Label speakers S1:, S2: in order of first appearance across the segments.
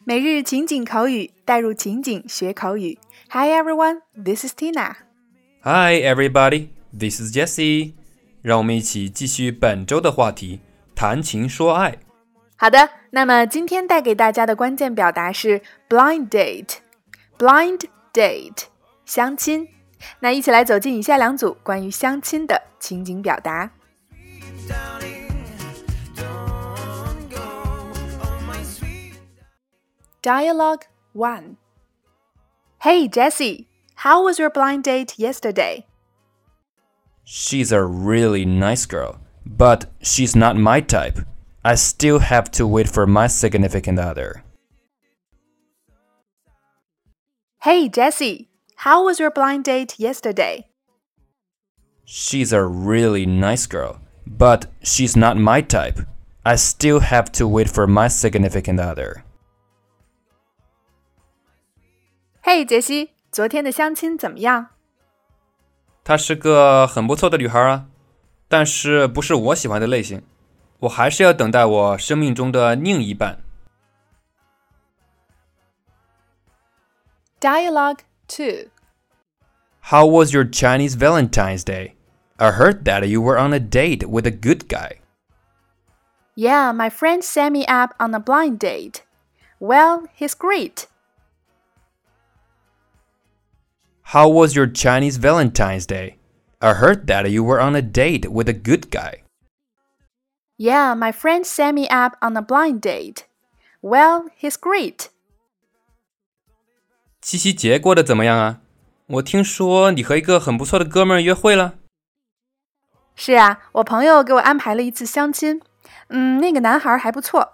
S1: 每日情景口语，带入情景学口语。Hi everyone, this is Tina.
S2: Hi everybody, this is Jessie. 让我们一起继续本周的话题，谈情说爱。
S1: 好的，那么今天带给大家的关键表达是 blind date。blind date， 相亲。那一起来走进以下两组关于相亲的情景表达。Dialogue 1. Hey Jessie, how was your blind date yesterday?
S2: She's a really nice girl, but she's not my type. I still have to wait for my significant other.
S1: Hey Jessie, how was your blind date yesterday?
S2: She's a really nice girl, but she's not my type. I still have to wait for my significant other.
S1: 嘿，杰西，昨天的相亲怎么样？
S2: 她是个很不错的女孩啊，但是不是我喜欢的类型，我还是要等待我生命中的另一半。
S1: Dialogue 2.
S2: How was your Chinese Valentine's Day? I heard that you were on a date with a good guy.
S1: Yeah, my friend set me up on a blind date. Well, he's great.
S2: How was your Chinese Valentine's Day? I heard that you were on a date with a good guy.
S1: Yeah, my friend set me up on a blind date. Well, he's great.
S2: 七夕节过得怎么样啊？我听说你和一个很不错的哥们儿约会了。
S1: 是啊，我朋友给我安排了一次相亲。那个男孩还不错。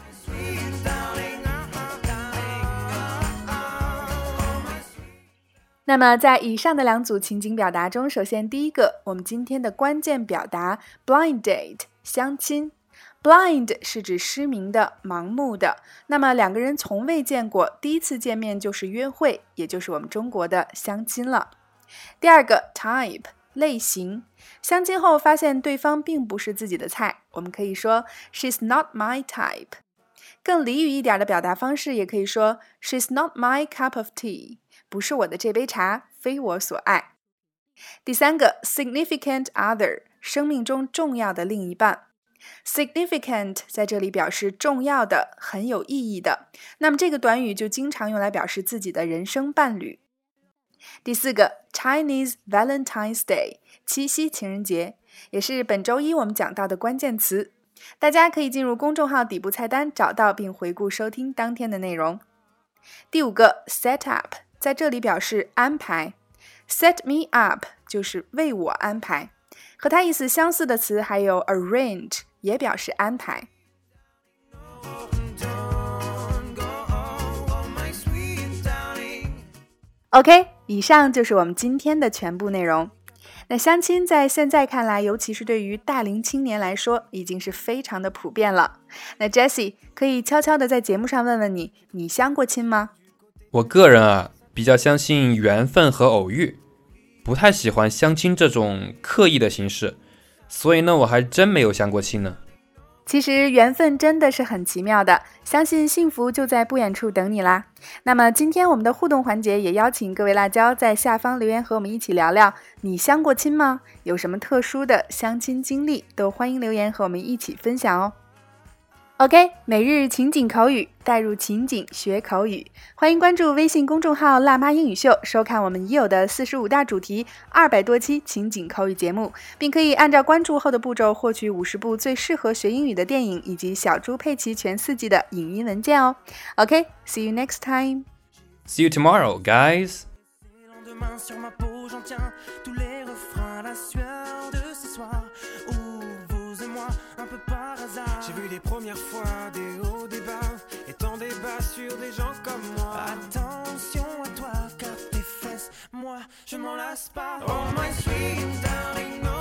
S1: 那么在以上的两组情景表达中，首先第一个，我们今天的关键表达 blind date 相亲。blind 是指失明的、盲目的，那么两个人从未见过，第一次见面就是约会，也就是我们中国的相亲了。第二个 type 类型，相亲后发现对方并不是自己的菜，我们可以说 she's not my type。 更俚语一点的表达方式也可以说 she's not my cup of tea， 不是我的这杯茶，非我所爱。第三个 significant other 生命中重要的另一半。Significant 在这里表示重要的、很有意义的，那么这个短语就经常用来表示自己的人生伴侣。第四个 Chinese Valentine's Day 七夕情人节，也是本周一我们讲到的关键词，大家可以进入公众号底部菜单找到并回顾收听当天的内容。第五个 set up 在这里表示安排， set me up 就是为我安排，和它意思相似的词还有 arrange 也表示安排。OK， 以上就是我们今天的全部内容。那相亲在现在看来，尤其是对于大龄青年来说，已经是非常的普遍了。那 Jessie 可以悄悄的在节目上问问你，你相过亲吗？
S2: 我个人啊，比较相信缘分和偶遇，不太喜欢相亲这种刻意的形式，所以呢，我还真没有相过亲呢。
S1: 其实缘分真的是很奇妙的，相信幸福就在不远处等你啦。那么今天我们的互动环节也邀请各位辣椒在下方留言和我们一起聊聊，你相过亲吗？有什么特殊的相亲经历，都欢迎留言和我们一起分享哦。OK， 每日情景口语，带入情景学口语。欢迎关注微信公众号辣妈英语秀，收看我们已有的45大主题200多期情景口语节目，并可以按照关注后的步骤获取50部最适合学英语的电影，以及小猪佩奇全4季的影音文件哦。OK， see you next time.
S2: See you tomorrow, guys.
S3: J'ai vu les premières fois des hauts, des bas, et tant des bas sur des gens comme moi. Attention à toi, car tes fesses, moi, je m'en lasse pas. Oh my sweet darling, no.